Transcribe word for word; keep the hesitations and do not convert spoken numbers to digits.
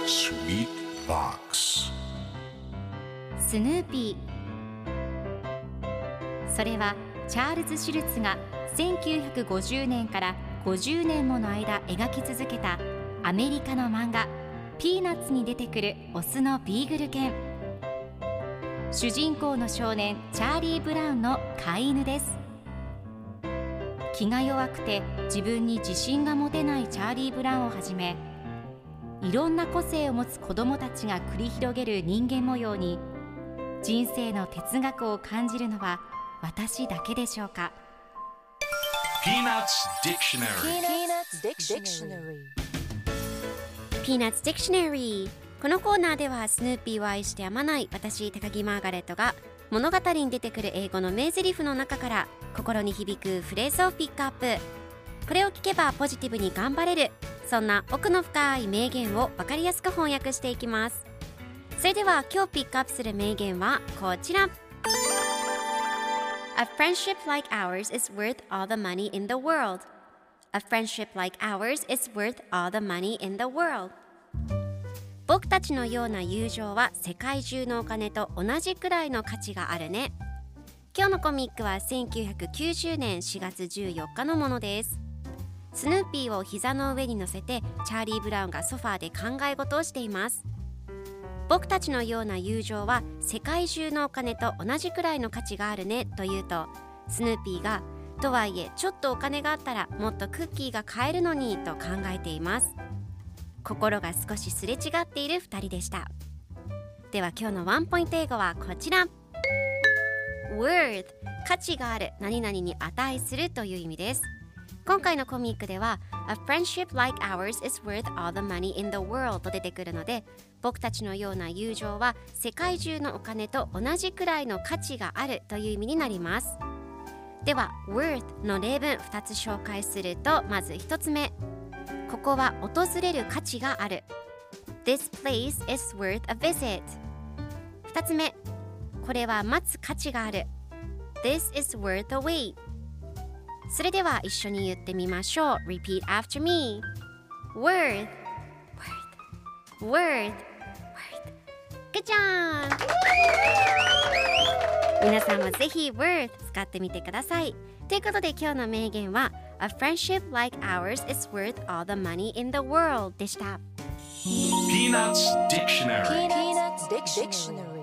Sweet Box スヌーピー。それはチャールズ・シュルツがせんきゅうひゃくごじゅうねんからごじゅうねんもの間描き続けたアメリカの漫画ピーナッツに出てくるオスのビーグル犬。主人公の少年チャーリー・ブラウンの飼い犬です。気が弱くて自分に自信が持てないチャーリー・ブラウンをはじめ、いろんな個性を持つ子どもたちが繰り広げる人間模様に人生の哲学を感じるのは私だけでしょうか。 Peanuts Dictionary Peanuts Dictionary。 このコーナーではスヌーピーを愛してやまない私高木マーガレットが物語に出てくる英語の名台詞の中から心に響くフレーズをピックアップ。これを聞けばポジティブに頑張れる、そんな奥の深い名言を分かりやすく翻訳していきます。それでは今日ピックアップする名言はこちら。 A friendship like ours is worth all the money in the world. A friendship like ours is worth all the money in the world. 僕たちのような友情は世界中のお金と同じくらいの価値があるね。今日のコミックはせんきゅうひゃくきゅうじゅうねんしがつじゅうよっかのものです。スヌーピーを膝の上に乗せてチャーリー・ブラウンがソファーで考え事をしています。僕たちのような友情は世界中のお金と同じくらいの価値があるねと言うと、スヌーピーがとはいえちょっとお金があったらもっとクッキーが買えるのにと考えています。心が少しすれ違っているふたりでした。では今日のワンポイント英語はこちら。 worth 価値がある、何々に値するという意味です。今回のコミックでは A friendship like ours is worth all the money in the world と出てくるので、僕たちのような友情は世界中のお金と同じくらいの価値があるという意味になります。では worth の例文ふたつ紹介すると、まずひとつめ、ここは訪れる価値がある。 This place is worth a visit。 ふたつめ、これは待つ価値がある。 This is worth a wait。 それでは一緒に言ってみましょう。 Repeat after me。 Worth Worth Worth Good job。 皆さんもぜひ Worth 使ってみてください。ということで今日の名言は A friendship like ours is worth all the money in the world でした。 Peanuts Dictionary Peanuts Dictionary